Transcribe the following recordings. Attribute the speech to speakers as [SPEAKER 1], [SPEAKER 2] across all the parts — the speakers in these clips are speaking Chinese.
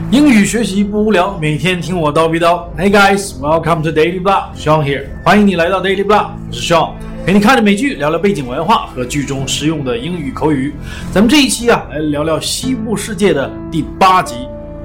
[SPEAKER 1] 英语学习不无聊，每天听我叨逼叨。Hey guys, welcome to Daily Blah, Sean here. 欢迎你来到 Daily Blah， 我是 Sean， 陪你看着美剧，聊聊背景文化和剧中实用的英语口语。咱们这一期来聊聊西部世界的第8集。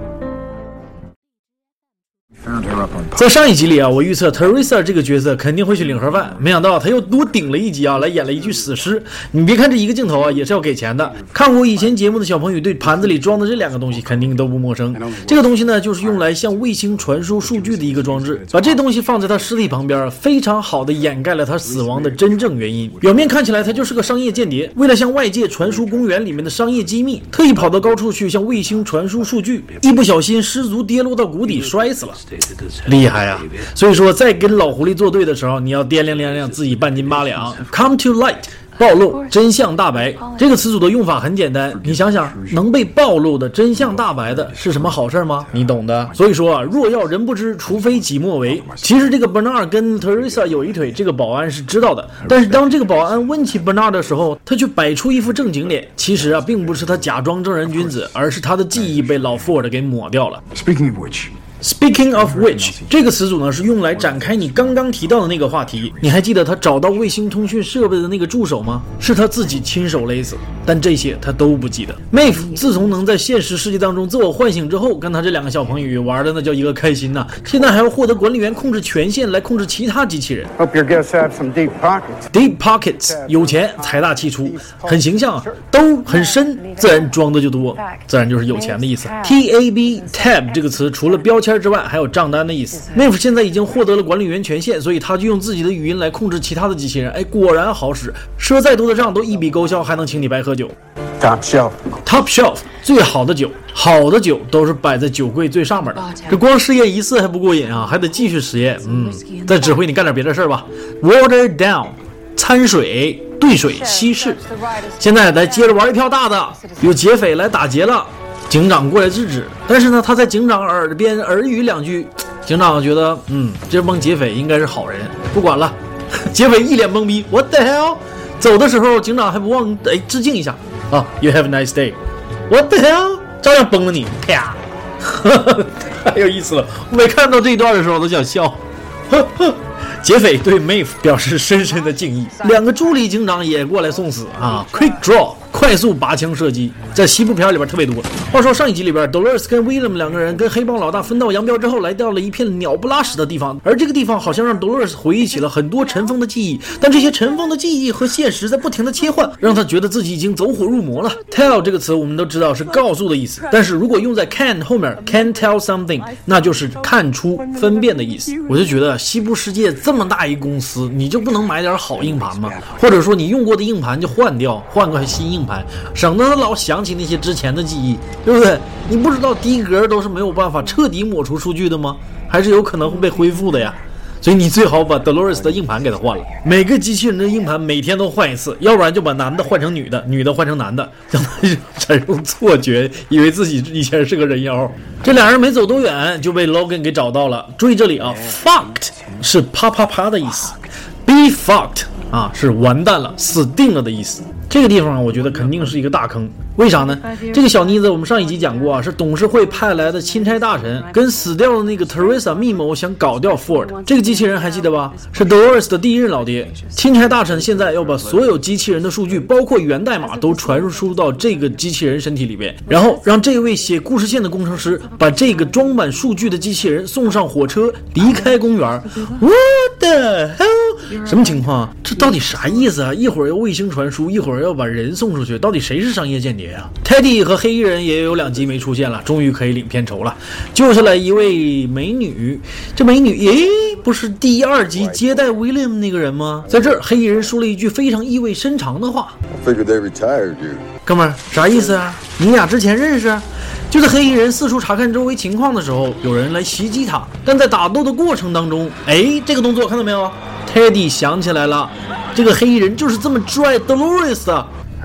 [SPEAKER 1] 在上一集里我预测 Teresa 这个角色肯定会去领盒饭，没想到他又多顶了一集来演了一具死尸。你别看这一个镜头也是要给钱的。看过以前节目的小朋友对盘子里装的这2个东西肯定都不陌生。这个东西呢，就是用来向卫星传输数据的一个装置。把这东西放在他尸体旁边，非常好的掩盖了他死亡的真正原因。表面看起来他就是个商业间谍，为了向外界传输公园里面的商业机密，特意跑到高处去向卫星传输数据，一不小心失足跌落到谷底摔死了。厉害啊！所以说在跟老狐狸作对的时候，你要掂量掂量自己半斤8两。 Come to light， 暴露，真相大白。这个词组的用法很简单，你想想，能被暴露的真相大白的是什么好事吗？你懂的。所以说若要人不知，除非己莫为。其实这个 Bernard 跟 Teresa 有一腿，这个保安是知道的。但是当这个保安问起 Bernard 的时候，他却摆出一副正经脸。其实并不是他假装正人君子，而是他的记忆被老 Ford 给抹掉了。Speaking of which， 这个词组呢是用来展开你刚刚提到的那个话题。你还记得他找到卫星通讯设备的那个助手吗？是他自己亲手勒死，但这些他都不记得。Maeve 自从能在现实世界当中自我唤醒之后，跟他这2个小朋友玩的那叫一个开心呐！现在还要获得管理员控制权限来控制其他机器人。
[SPEAKER 2] Hope your guests have some deep pockets.
[SPEAKER 1] Deep pockets， 有钱财大气粗，很形象啊。兜很深，自然装的就多，自然就是有钱的意思。Tab 这个词除了标签之外，还有账单的意思。Maeve 现在已经获得了管理员权限，所以他就用自己的语音来控制其他的机器人。果然好使，赊再多的账都一笔勾销，还能请你白喝酒。
[SPEAKER 2] Top shelf， 最好的酒，好的酒都是摆在酒柜最上面的。这光试验1次还不过瘾还得继续实验。再指挥你干点别的事吧。Water down， 掺水，兑水，稀释。现在来接着玩一票大的，有劫匪来打劫了。警长过来制止，但是呢，他在警长耳边耳语2句，警长觉得，这帮劫匪应该是好人，不管了。劫匪一脸懵逼 ，What the hell？ 走的时候，警长还不忘致敬一下You have a nice day。What the hell？ 照样崩了你，啪！太有意思了，我每看到这一段的时候都想笑。劫匪对 Maeve 表示深深的敬意，2个助理警长也过来送死Quick draw， 快速拔枪射击，在西部片里边特别多。话说上一集里边 Dolores 跟 William 2个人跟黑帮老大分道扬镳之后，来到了一片鸟不拉屎的地方，而这个地方好像让 Dolores 回忆起了很多尘封的记忆，但这些尘封的记忆和现实在不停的切换，让他觉得自己已经走火入魔了。 Tell 这个词我们都知道是告诉的意思，但是如果用在 can 后面 can tell something， 那就是看出分辨的意思。我就觉得西部世界这么大一公司，你就不能买点好硬盘吗？或者说你用过的硬盘就换掉，换个新硬盘，省得他老想起那些之前的记忆，对不对？你不知道低格都是没有办法彻底抹除数据的吗？还是有可能会被恢复的呀。所以你最好把 Dolores 的硬盘给他换了，每个机器人的硬盘每天都换一次，要不然就把男的换成女的，女的换成男的，让他产生错觉，以为自己以前是个人妖。这2人没走多远就被 Logan 给找到了。注意这里fucked 是啪啪啪的意思， be fucked 是完蛋了，死定了的意思。这个地方我觉得肯定是一个大坑，为啥呢？这个小妮子我们上一集讲过是董事会派来的钦差大臣，跟死掉的那个 Teresa 密谋想搞掉 Ford。 这个机器人还记得吧？是 Dolores 的第一任老爹。钦差大臣现在要把所有机器人的数据，包括源代码都传输到这个机器人身体里边，然后让这位写故事线的工程师把这个装满数据的机器人送上火车，离开公园。What the hell？ 什么情况这到底啥意思一会儿要卫星传输，一会儿要把人送出去，到底谁是商业间谍Teddy 和黑衣人也有2集没出现了，终于可以领片酬了。救下来一位美女，这美女不是第2集接待 William 那个人吗？在这儿黑衣人说了一句非常意味深长的话，
[SPEAKER 3] I figured they retired you。
[SPEAKER 1] 哥们儿啥意思你俩之前认识？就在黑衣人四处查看周围情况的时候，有人来袭击他，但在打斗的过程当中这个动作看到没有？ Teddy 想起来了，这个黑衣人就是这么拽 Dolores 的，他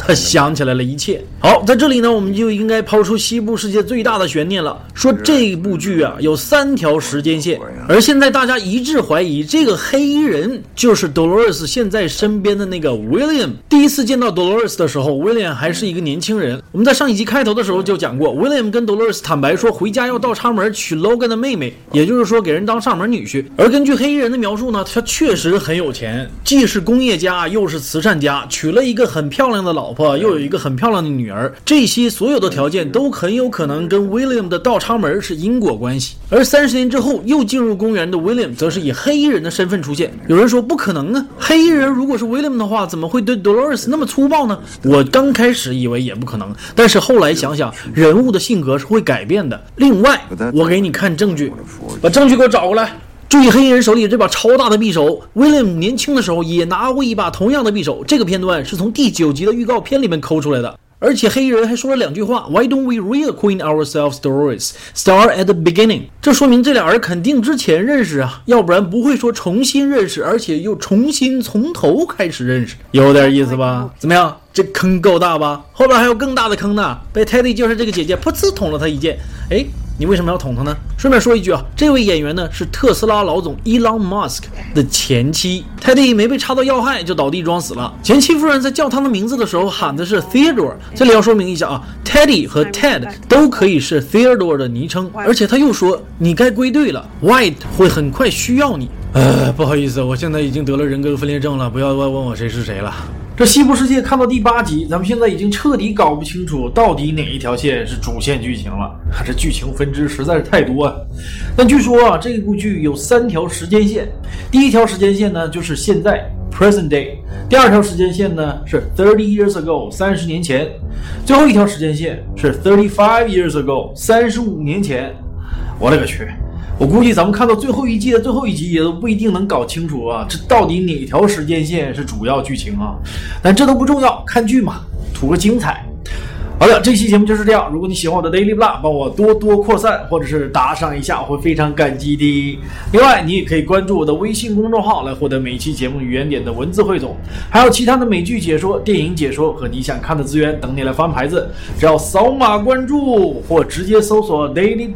[SPEAKER 1] 他想起来了一切。好，在这里呢，我们就应该抛出西部世界最大的悬念了，说这部剧啊有3条时间线，而现在大家一致怀疑这个黑衣人就是 Dolores 现在身边的那个 William。第一次见到 Dolores 的时候 ，William 还是一个年轻人。我们在上一集开头的时候就讲过 ，William 跟 Dolores 坦白说回家要倒插门娶 Logan 的妹妹，也就是说给人当上门女婿。而根据黑衣人的描述呢，他确实很有钱，既是工业家又是慈善家，娶了一个很漂亮的老婆，又有一个很漂亮的女儿，这些所有的条件都很有可能跟 William 的倒插门是因果关系。而30年之后又进入公园的 William 则是以黑衣人的身份出现。有人说不可能啊，黑衣人如果是 William 的话，怎么会对 Dolores 那么粗暴呢？我刚开始以为也不可能，但是后来想想，人物的性格是会改变的。另外，我给你看证据，把证据给我找过来。注意黑衣人手里这把超大的匕首 ，William 年轻的时候也拿过一把同样的匕首。这个片段是从第9集的预告片里面抠出来的。而且黑衣人还说了2句话 Why don't we reacquaint ourselves, Dolores? Start at the beginning. 这说明这俩人肯定之前认识啊，要不然不会说重新认识，而且又重新从头开始认识，有点意思吧？怎么样？这坑够大吧？后边还有更大的坑呢，被 Teddy 就是这个姐姐噗呲捅了他一剑。哎，你为什么要捅他呢？顺便说一句啊，这位演员呢是特斯拉老总 Elon Musk 的前妻。Teddy 没被插到要害就倒地装死了。前妻夫人在叫他的名字的时候喊的是 Theodore。这里要说明一下啊 ，Teddy 和 Ted 都可以是 Theodore 的昵称，而且他又说你该归队了 ，White 会很快需要你。不好意思，我现在已经得了人格分裂症了，不要问我谁是谁了。这西部世界看到第8集，咱们现在已经彻底搞不清楚到底哪一条线是主线剧情了，这剧情分支实在是太多啊。但据说啊，这部剧有3条时间线，第1条时间线呢就是现在 present day， 第2条时间线呢是30 years ago 30年前，最后1条时间线是35 years ago 35年前。我勒个去！我估计咱们看到最后一季的最后一集也都不一定能搞清楚啊，这到底哪条时间线是主要剧情啊？但这都不重要，看剧嘛，图个精彩。好的，这期节目就是这样。如果你喜欢我的 Daily Blah， 帮我多多扩散或者是打赏一下，我会非常感激的。另外，你也可以关注我的微信公众号来获得每期节目原点的文字汇总，还有其他的美剧解说、电影解说和你想看的资源等你来翻牌子。只要扫码关注或直接搜索 Daily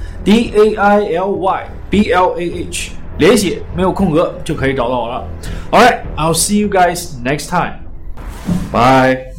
[SPEAKER 1] Blah。DAILYBLAH 连写没有空格就可以找到我了。Alright, I'll see you guys next time. Bye.